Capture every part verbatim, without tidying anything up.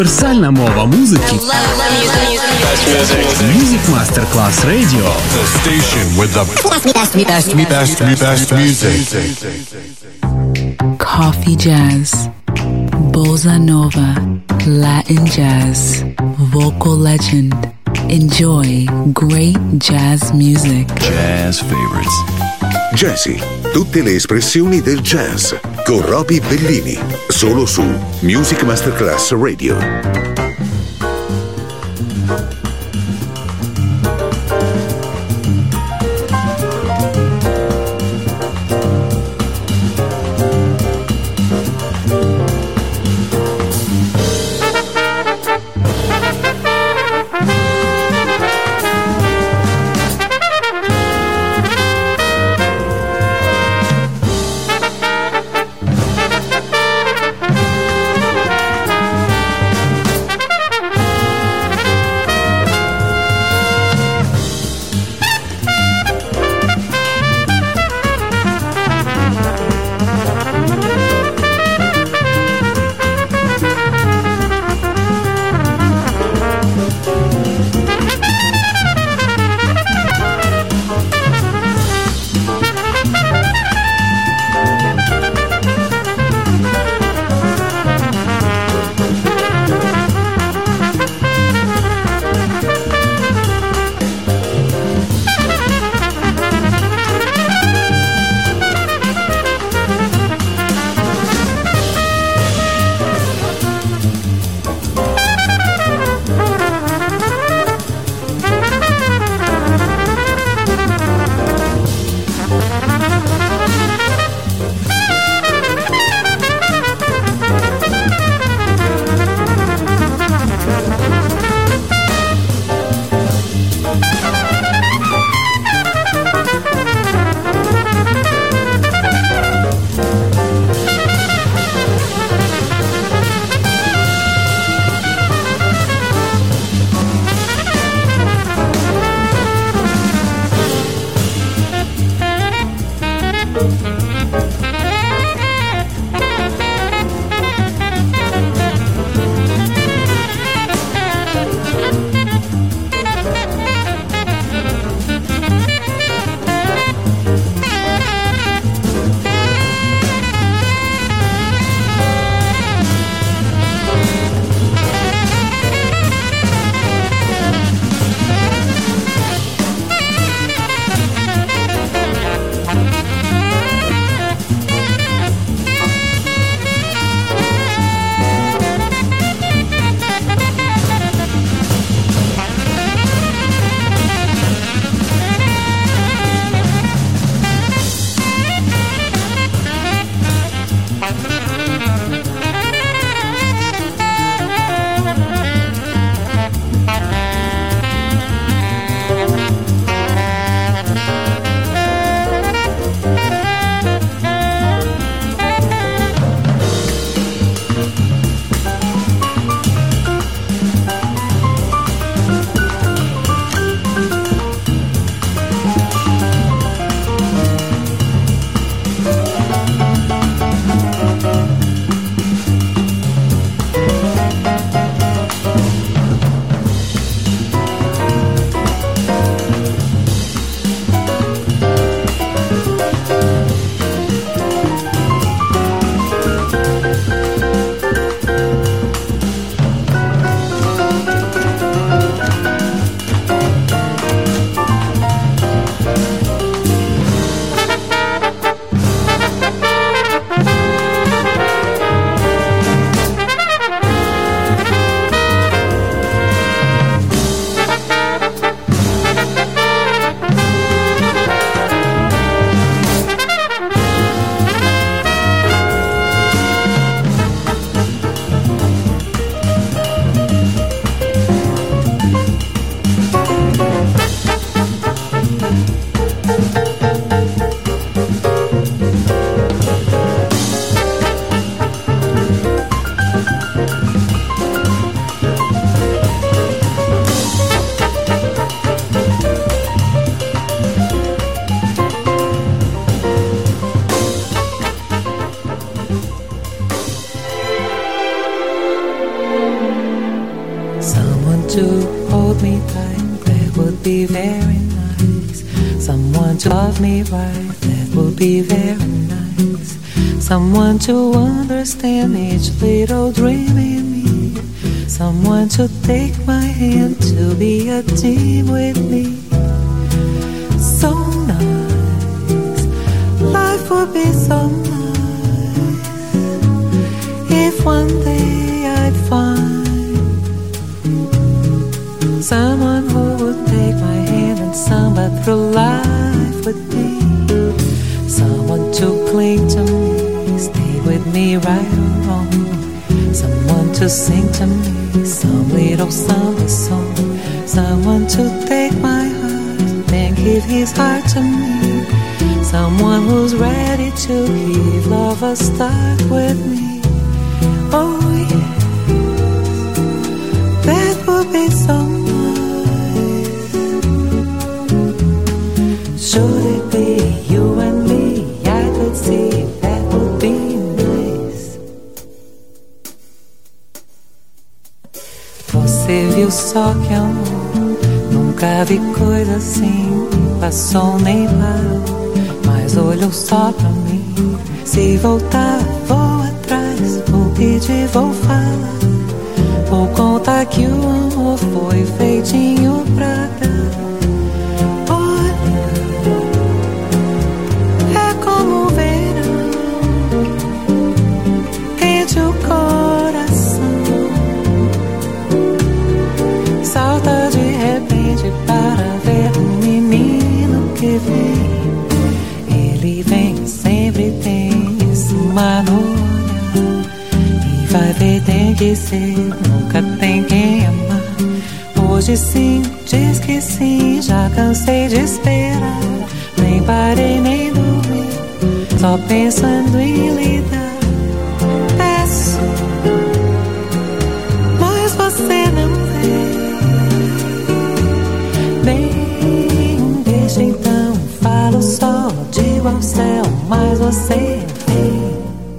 Универсальная мова музыки. Music Masterclass Radio. The station with the best, best, best, best, best music. Coffee jazz, bossa nova, Latin jazz, vocal legend. Enjoy great jazz music. Jazz favorites. Jazzy, tutte le espressioni del jazz con Roby Bellini, solo su Music Masterclass Radio. Someone to hold me tight, that would be very nice. Someone to love me right, that would be very nice. Someone to understand each little dream in me. Someone to take my hand, to be a team with me. So nice, life would be so nice if one day I'd find someone who would take my hand and samba through life with me. Someone to cling to me, stay with me right or wrong. Someone to sing to me some little samba song. Someone to take my heart and give his heart to me. Someone who's ready to give love a start with me. Oh yes, that would be so nice. Should it be you and me, I could see that would be nice. Você viu só que amor, nunca vi coisa assim. Passou nem parou, mas olhou só pra mim. Se voltar, vou atrás, vou pedir, vou falar. Vou contar que o amor foi feitinho pra dar. Para ver um menino que vem, ele vem, sempre tem isso uma no olhar. E vai ver, tem que ser, nunca tem quem amar. Hoje sim, diz que sim, já cansei de esperar. Nem parei, nem dormi, só pensando em lidar. Peço, mas você não vê. Bem, deixa então, falo só, digo ao céu, mas você vem.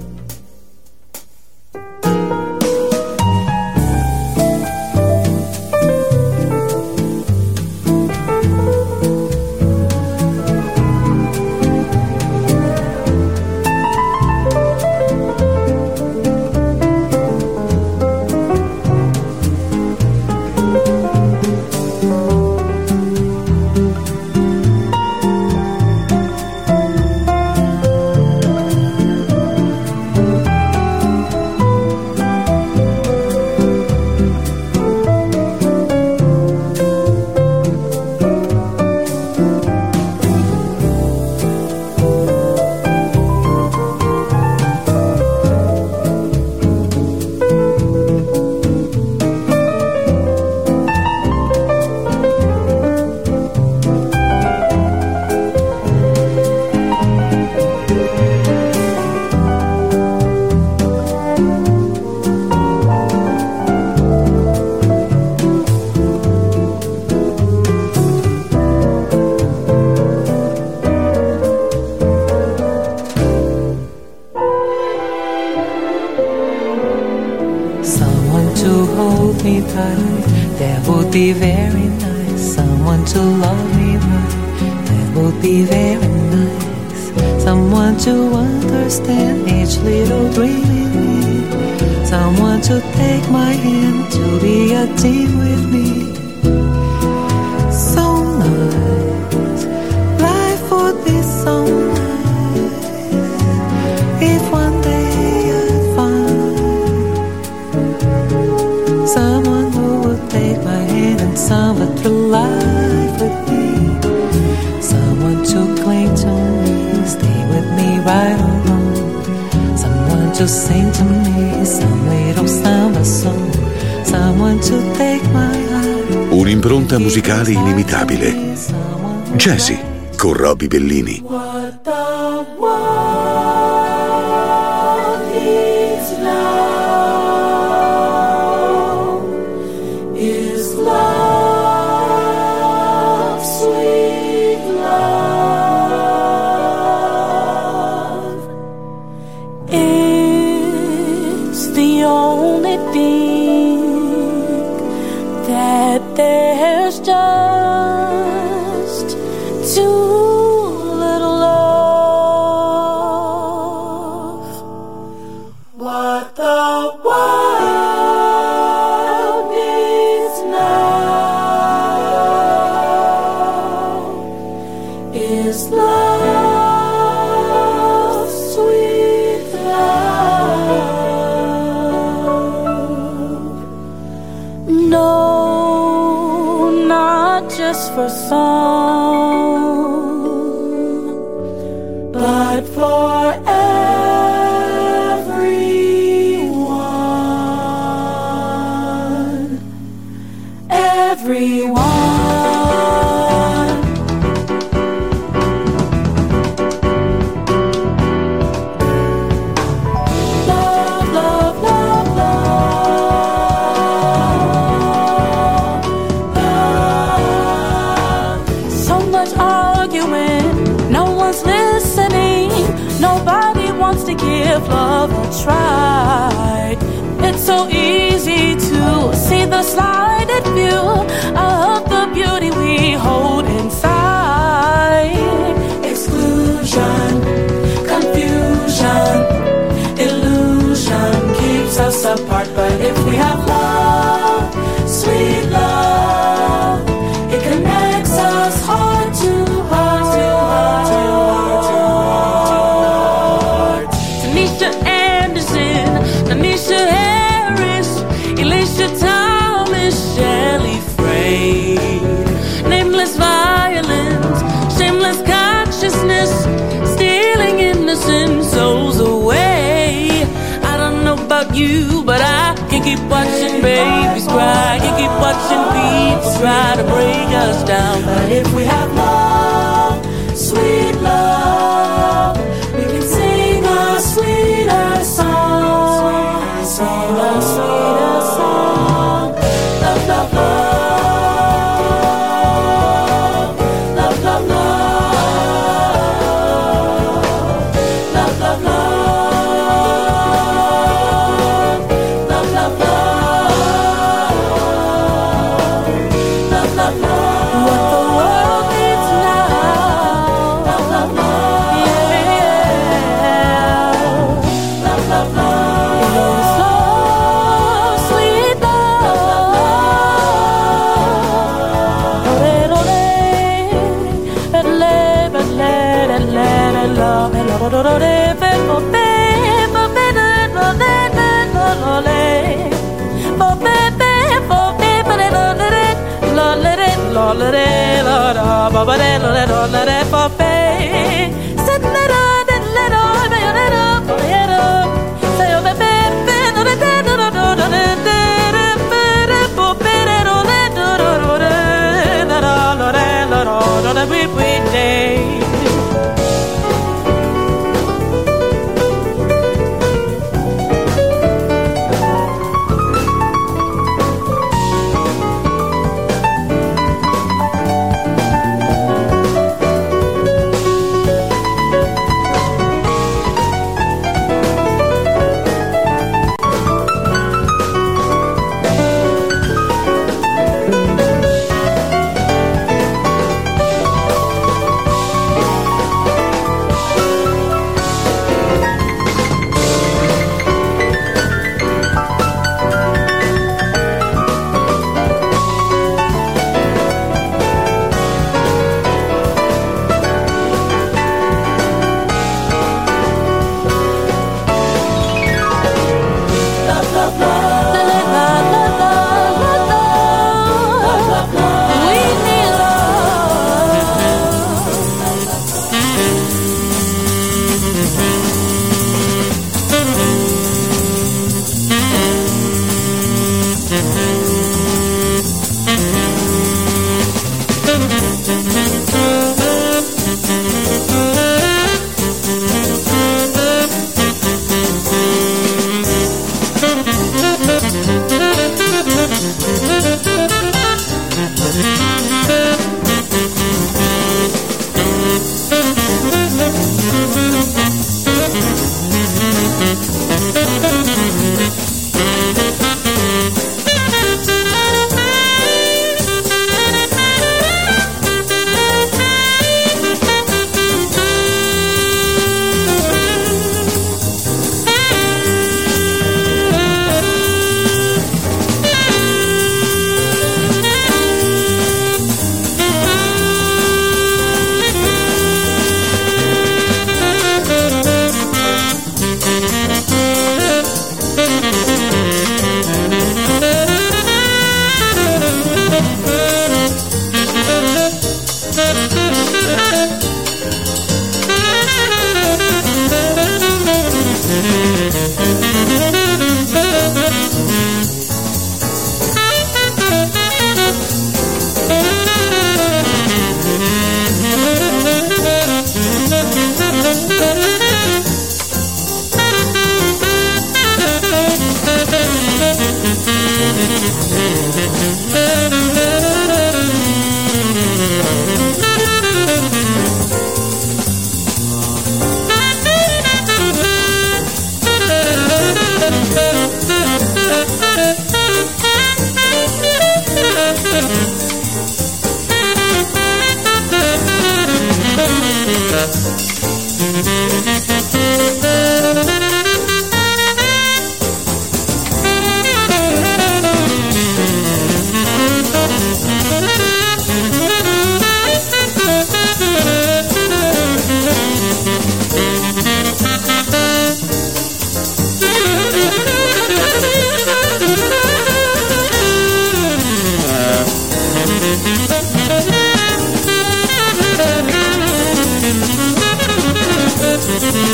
Be very nice, someone to love me right, that would be very nice. Someone to understand each little dream in me. Someone to take my hand, to be a team with me. So nice, life would be so nice if one day I'd find someone who would take my hand and samba through life with me. Someone to cling to me, stay with me right or wrong. Someone to sing to me some little samba song. Someone to take my heart. Un'impronta musicale inimitabile. Jazzy con Roby Bellini. What the world needs now is love, sweet love. It's the only thing that there's just too little love. What the world needs now is love, sweet love. No, not just for some, but for everyone. Everyone. Love, love, love, love, love. So much arguing, no one's listening. Nobody wants to give love a try. It's so easy to see the slighted view of the beauty we hold inside. Exclusion, confusion, illusion keeps us apart. But if we have love, sweet love, it connects us heart to heart, to heart, to heart, to heart. Tanisha Anderson, Tanisha Harris, Elisha Thomas, Shelley Frey. Nameless violence, shameless consciousness, stealing innocent souls away. I don't know about you, but I can keep watching babies cry, can keep watching people try to break us down. But if we have love, sweet love, we can sing a sweeter song, sing a sweeter song. Love, love, love. Love, love, love. Love, love, love. Love, love, love. Love, love, love. What the world needs now. Love, love, love. Yeah. Love, love, love. Is love, sweet love. Ole, ole, ole, ole, love, love, love.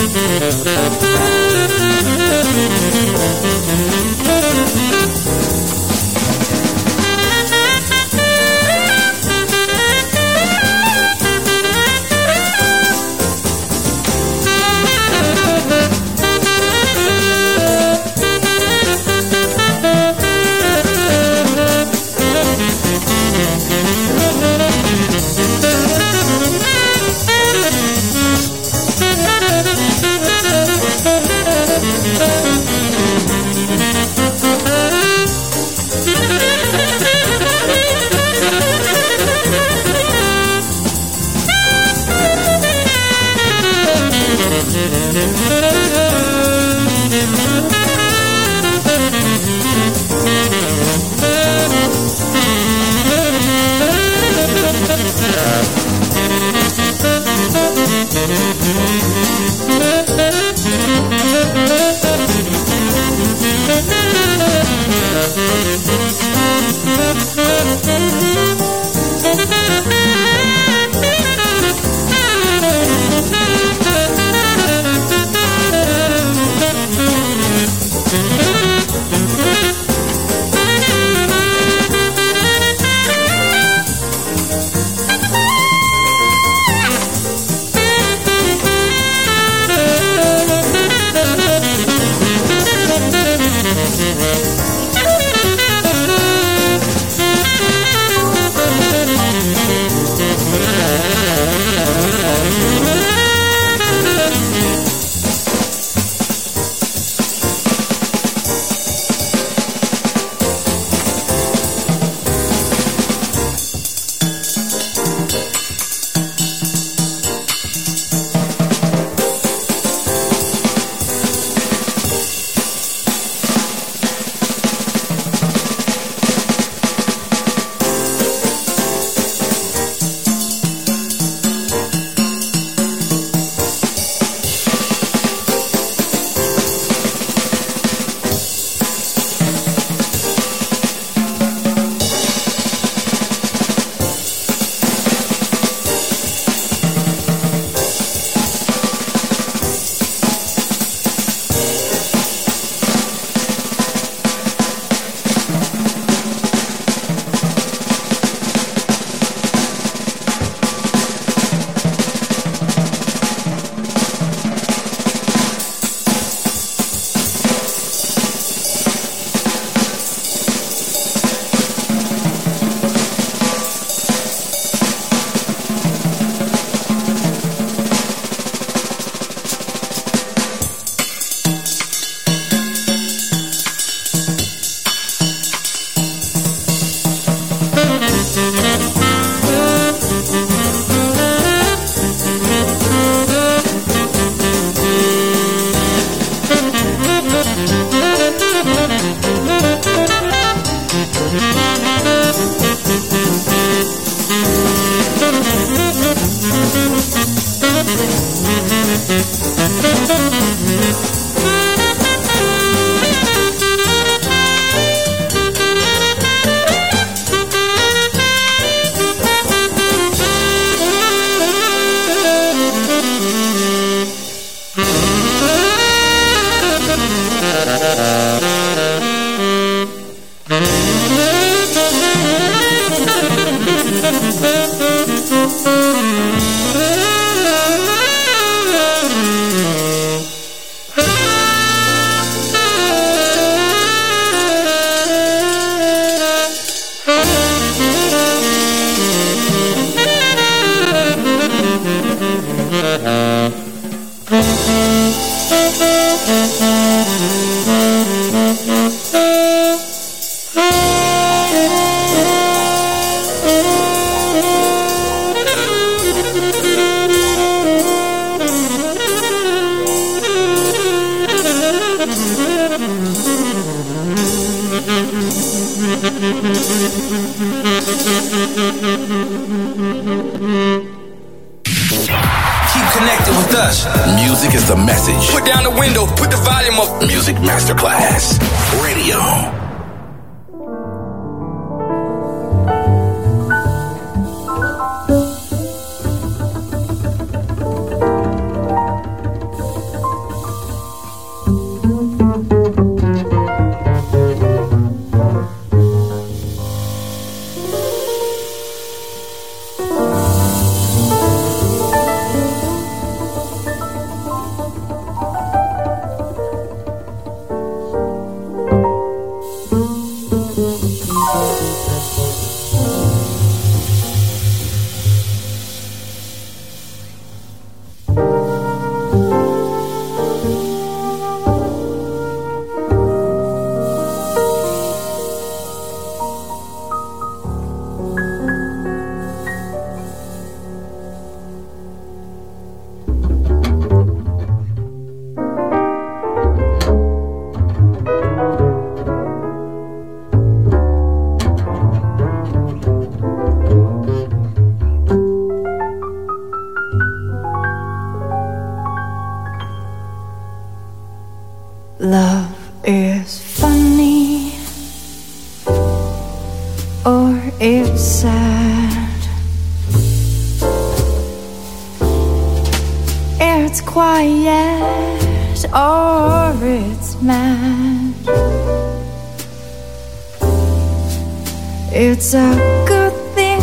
connected with us. Music is the message. Put down the window, put the volume up. Music Masterclass Radio. Love is funny or it's sad. It's quiet or it's mad. It's a good thing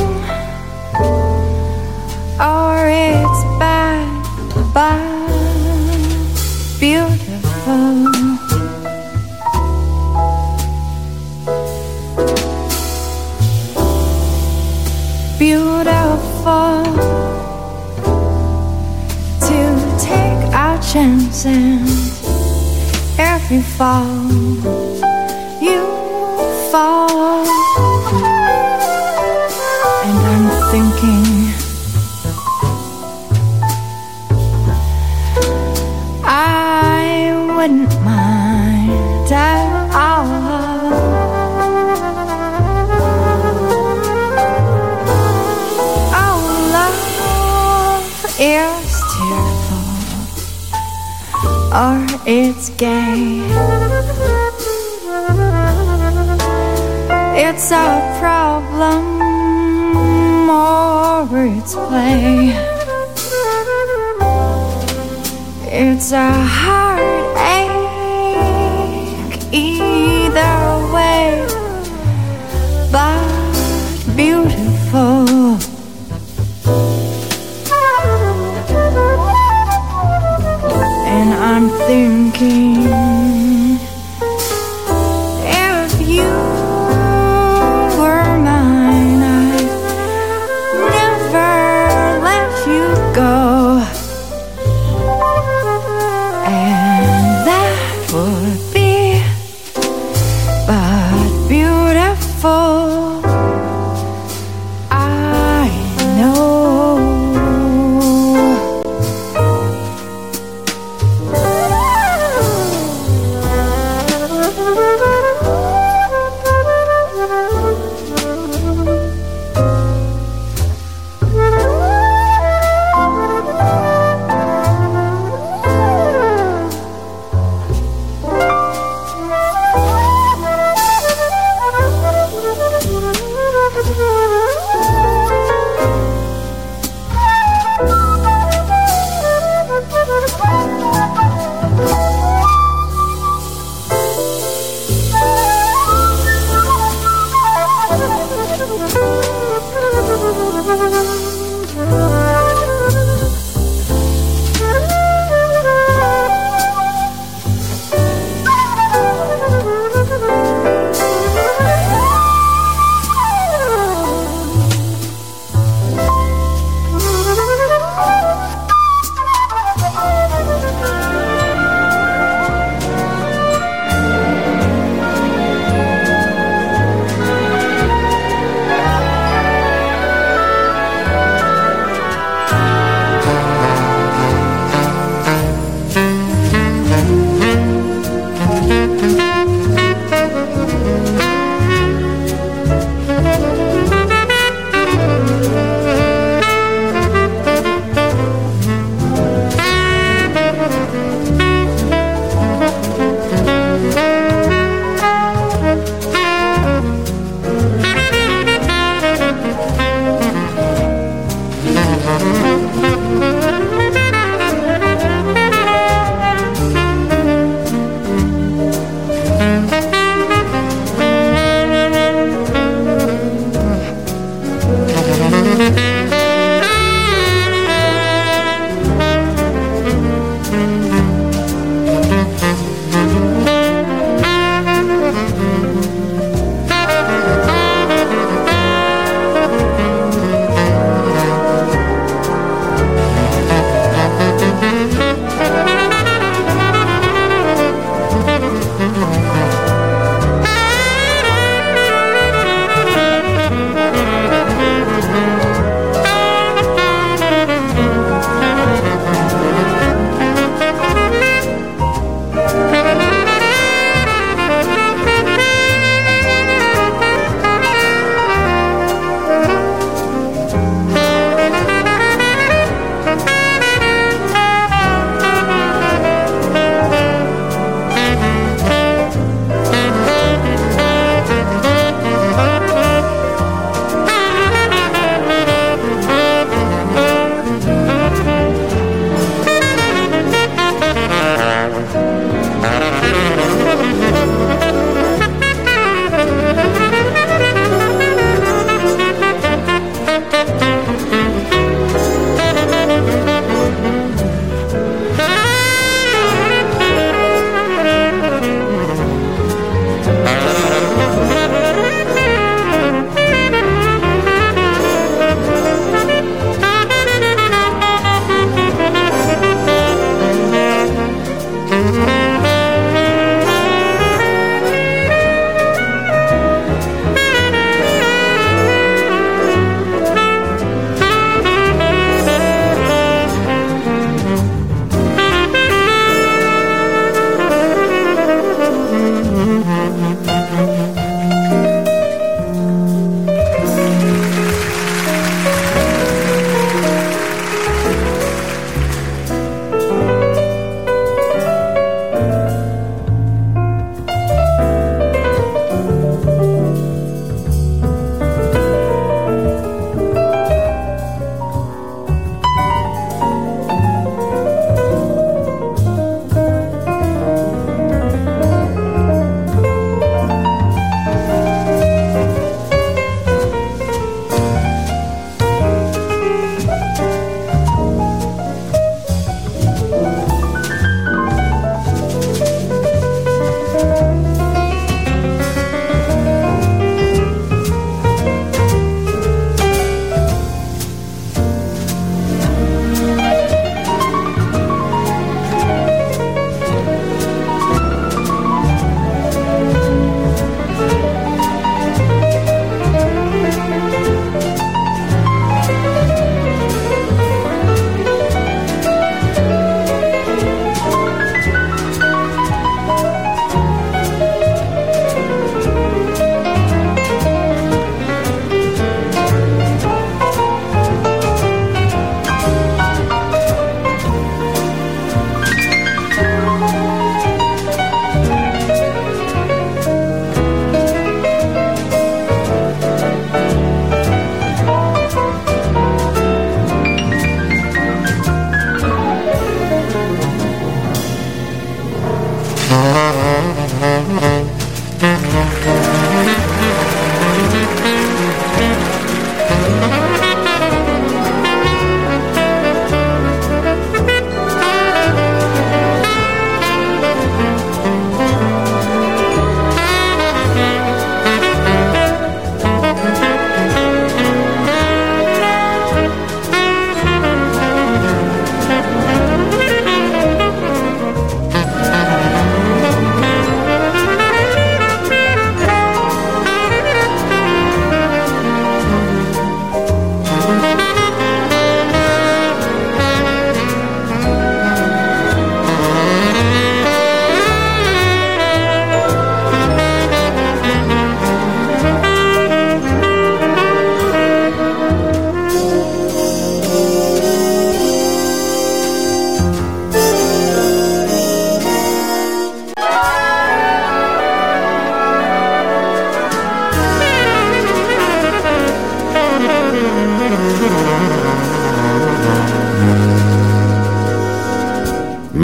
or it's bad, bad, beautiful. Beautiful to take our chances. Every fall you fall, and I'm thinking I wouldn't mind at all. It's tearful or it's gay. It's a problem or it's play. It's a heartache either way, but beautiful. And I'm thinking, if you were mine, I'd never let you go. And that would be but beautiful. I know.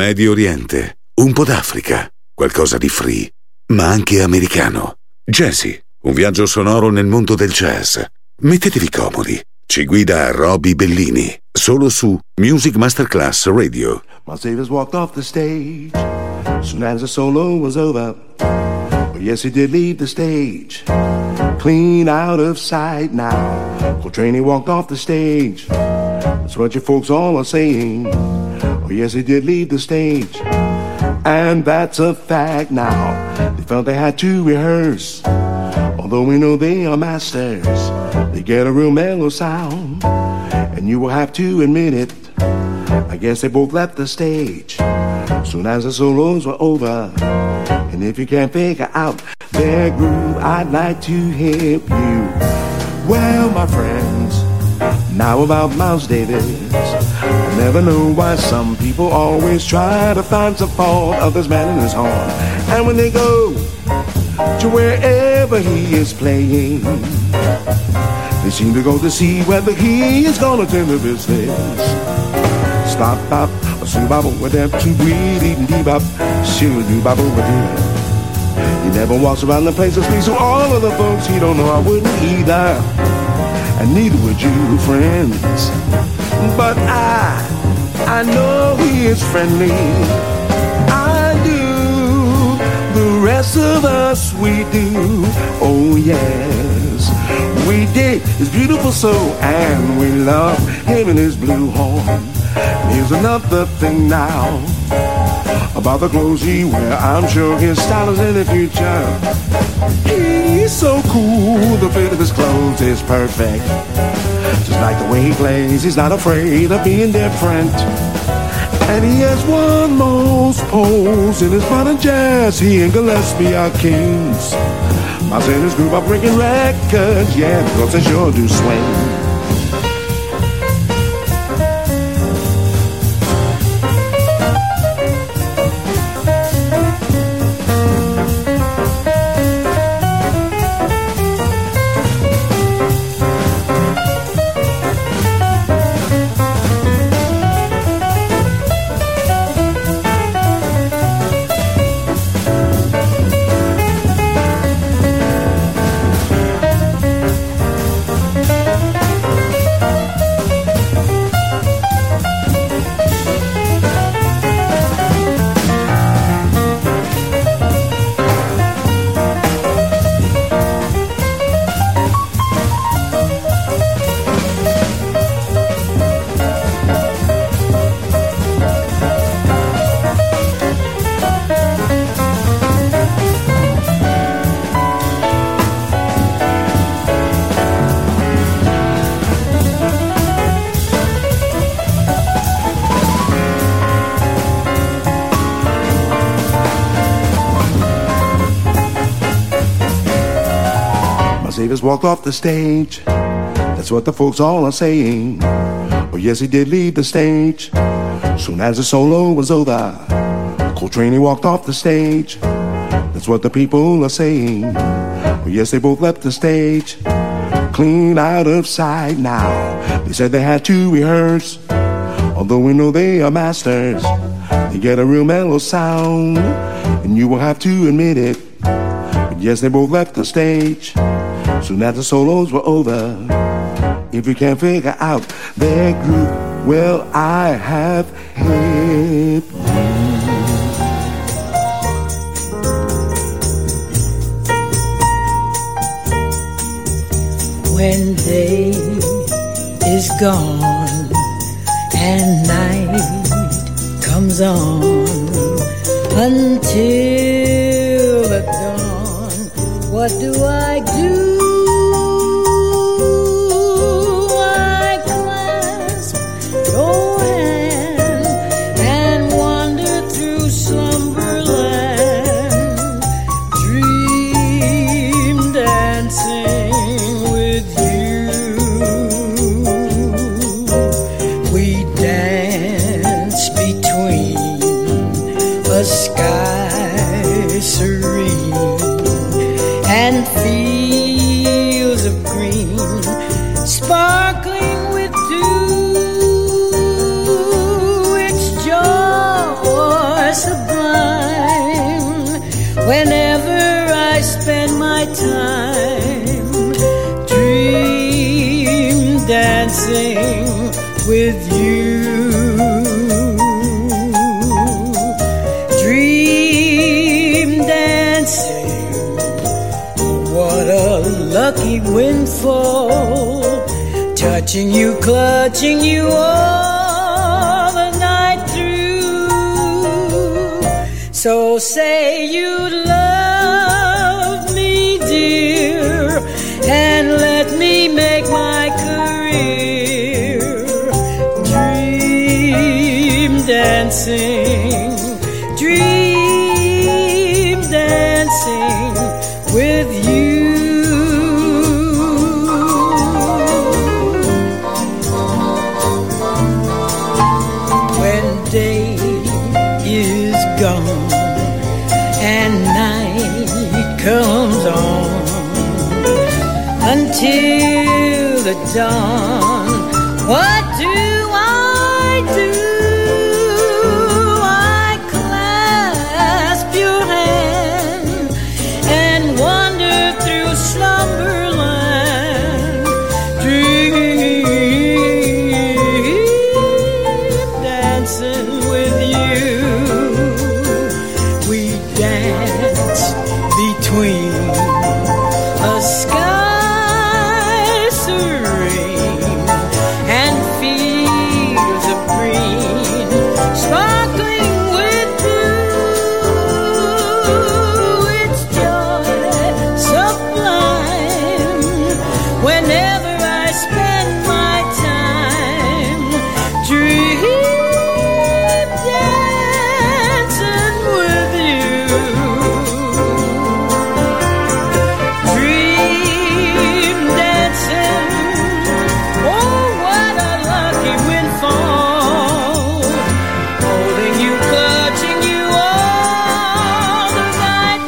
Medio Oriente, un po' d'Africa, qualcosa di free, ma anche americano. Jazzy, un viaggio sonoro nel mondo del jazz. Mettetevi comodi. Ci guida Roby Bellini, solo su Music Masterclass Radio. My Savior's walked off the stage soon as the solo was over. Oh, yes, he did leave the stage, clean out of sight now. Coltrane, he walked off the stage. That's what you folks all are saying. Oh, yes, he did leave the stage, and that's a fact now. They felt they had to rehearse, although we know they are masters. They get a real mellow sound, and you will have to admit it. I guess they both left the stage soon as the solos were over. And if you can't figure out their groove, I'd like to help you. Well, my friends, now about Miles Davis. I never know why some people always try to find some fault of this man in his horn. And when they go to wherever he is playing, they seem to go to see whether he is gonna tend to business. Stop, bop, a soo bop with them two weed eating bebop, shoo doo bop with him. He never walks around the place to speak to all of the folks he don't know. I wouldn't either, and neither would you, friends. But I, I know he is friendly. I do. The rest of us, we do. Oh yes, we dig his beautiful soul, and we love him and his blue horn. Here's another thing now about the clothes he wear. I'm sure his style is in the future. He's so cool, the fit of his clothes is perfect. Just like the way he plays, he's not afraid of being different. And he has won most polls in his modern jazz. He and Gillespie are kings. My Sailor's group are breaking records, yeah, because they sure do swing. Davis walked off the stage. That's what the folks all are saying. Oh yes, he did leave the stage soon as the solo was over. Coltrane, he walked off the stage. That's what the people are saying. Oh yes, they both left the stage clean out of sight now. They said they had to rehearse, although we know they are masters. They get a real mellow sound, and you will have to admit it. But yes, they both left the stage soon as the solos were over. If you can't figure out their groove, well, I have helped you. When day is gone and night comes on until the dawn, what do I do? I clasp your hand and wander through slumberland, dream dancing with you. We dance between a sky serene and feel dancing with you. Dream dancing, what a lucky windfall. Touching you, clutching you all the night through. So say you love me, dear, and let me make my career. Dream dancing, dream dancing with you. When day is gone and night comes on, until the dawn, what do I do? I clasp your hand and wander through slumberland. Dream dancing with you. We dance between a sky serene and fields of green, sparkling with blue. It's joy sublime whenever I spend my time. Dream dancing with you. Dream dancing, oh what a lucky windfall. Holding you, clutching you all the night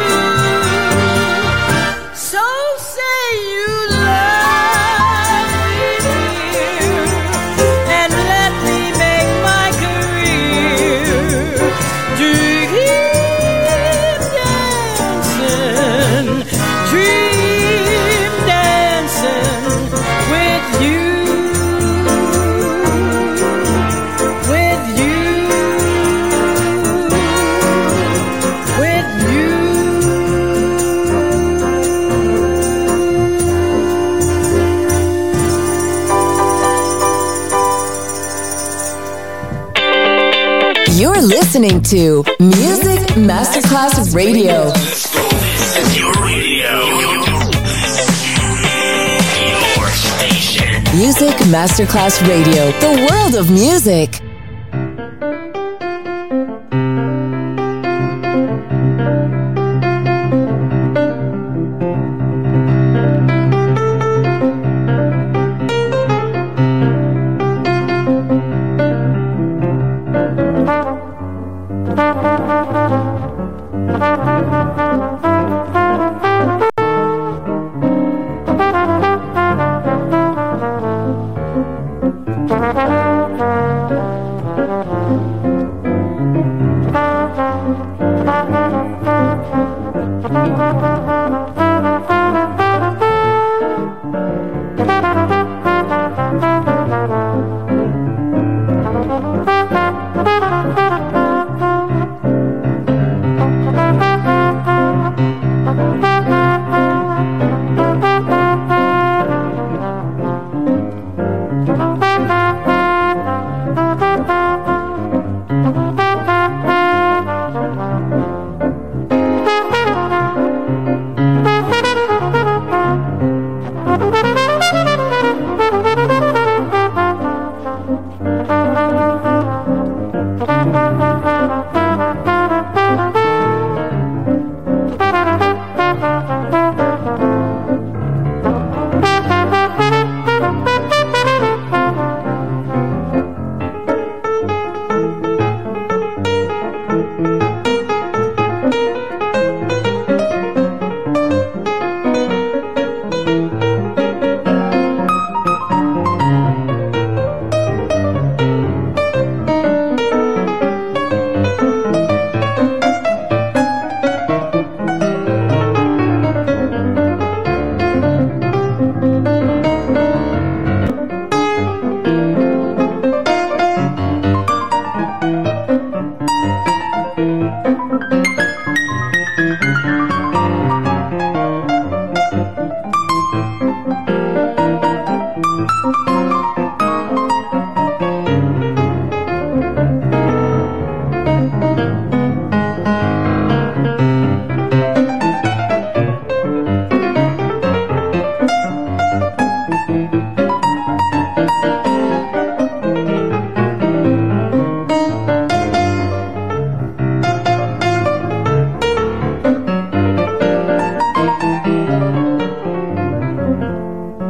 through. So say you love me, dear, and let me make my career. Dream dancing, dream dancing with you, with you, with you. You're listening to Music Masterclass Radio. Your radio. Your station. Music Masterclass Radio. The world of music.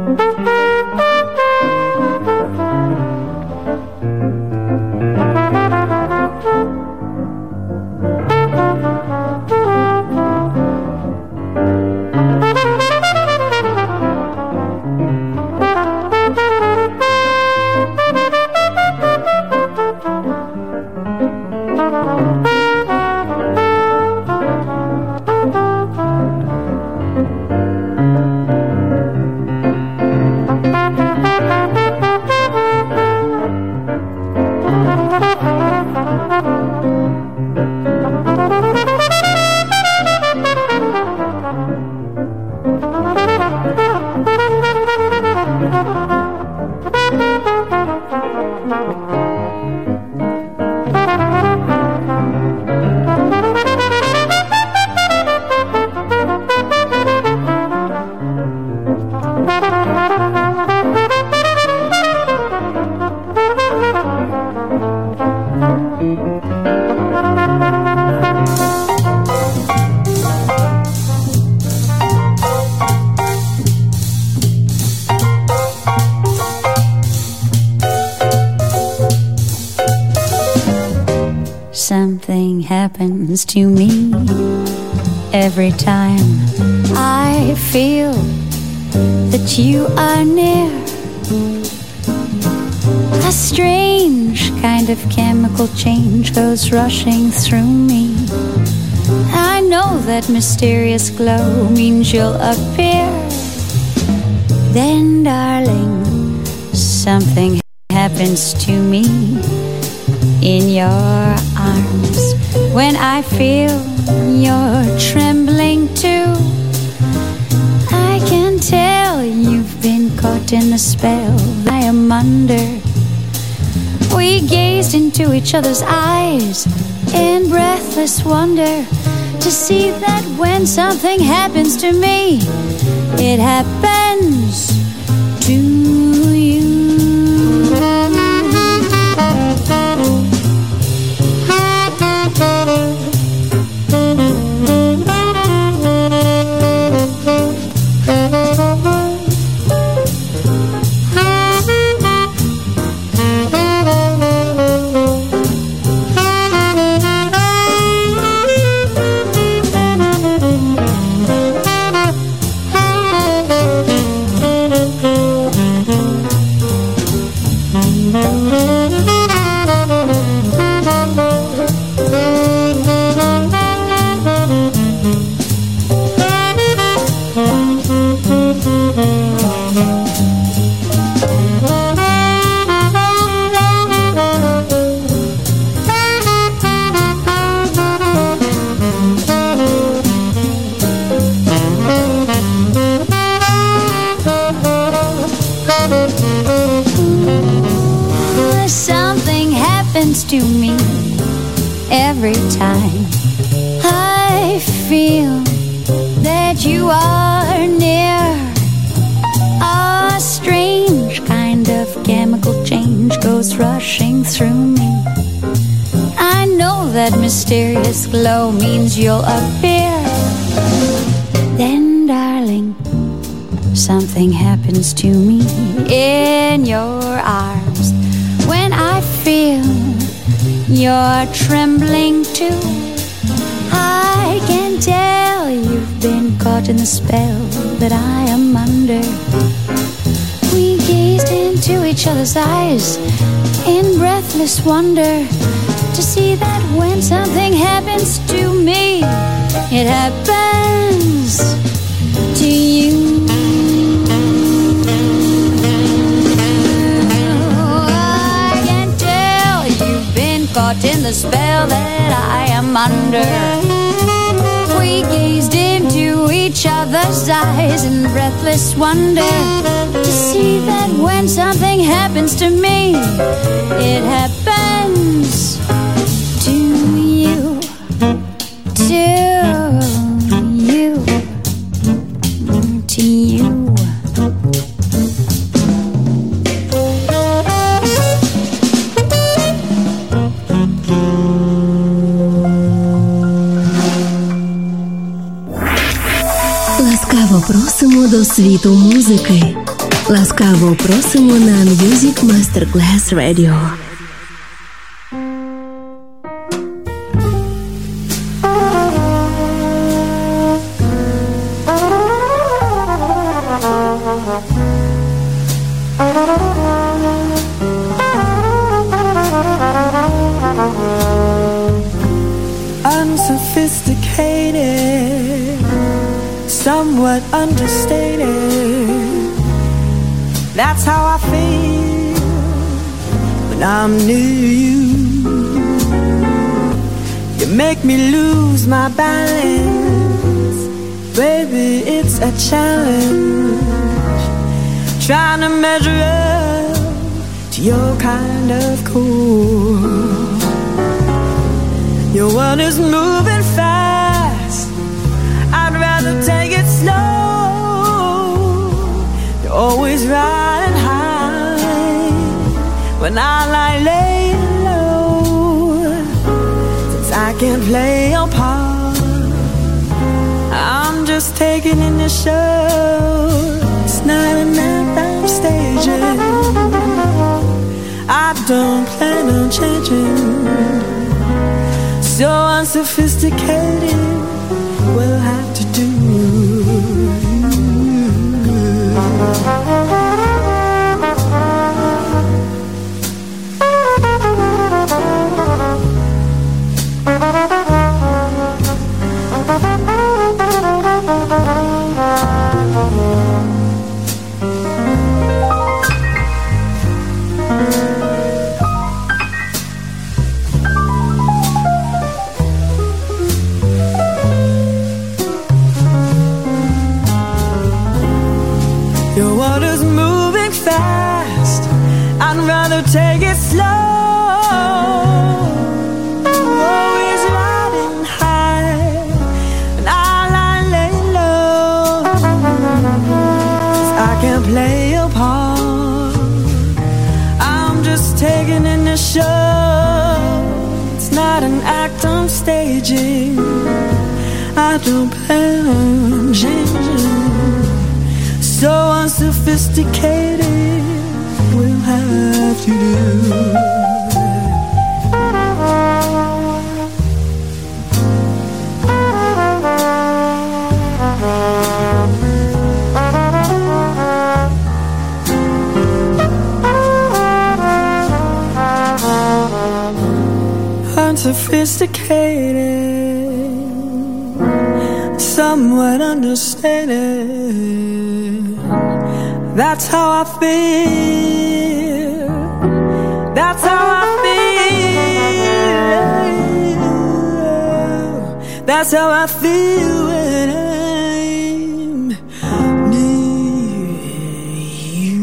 Something happens to me every time I feel that you are near. A strange kind of chemical change goes rushing through me. I know that mysterious glow means you'll appear. Then, darling, something happens to me in your arms when I feel you're trembling too. I can tell you've been caught in the spell I am under. We gazed into each other's eyes in breathless wonder to see that when something happens to me, it happens to you. Something happens to me every time I feel that you are near. A strange kind of chemical change goes rushing through me. I know that mysterious glow means you'll appear. Then, darling, something happens to me in your arms when I feel you're trembling too. I can tell you've been caught in the spell that I am under. We gazed into each other's eyes in breathless wonder to see that when something happens to me, it happens to you. I can tell you've been caught in the spell that I am under. We gazed into each other's eyes in breathless wonder to see that when something happens to me, it happens to you, to you, to you. Ласкаво просимо до світу музики. Laskavo prosimo na Music Masterclass Radio. Unsophisticated, somewhat understated. That's how I feel when I'm near you. You make me lose my balance. Baby, it's a challenge trying to measure up to your kind of cool. Your world is moving fast, I'd rather take it slow. You're always riding high when I lie laying low. Since I can't play your part, I'm just taking in the show. It's not an act I'm staging. I don't plan on changing. So unsophisticated, we'll have to do. Your world is moving fast, I'd rather take it slow. Always riding high, and I lie lay low. 'Cause I can't play your part, I'm just taking in the show. It's not an act I'm staging, I don't plan on changing. So unsophisticated, we'll have to do. Unsophisticated, somewhat understated. That's how I feel. That's how I feel. That's how I feel when I'm near you.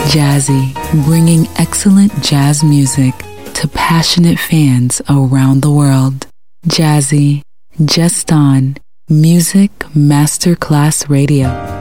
Jazzy, bringing excellent jazz music to passionate fans around the world. Jazzy, just on Music Masterclass Radio.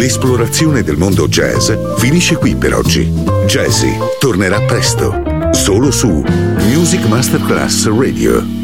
L'esplorazione del mondo jazz finisce qui per oggi. Jazzy tornerà presto, solo su Music Masterclass Radio.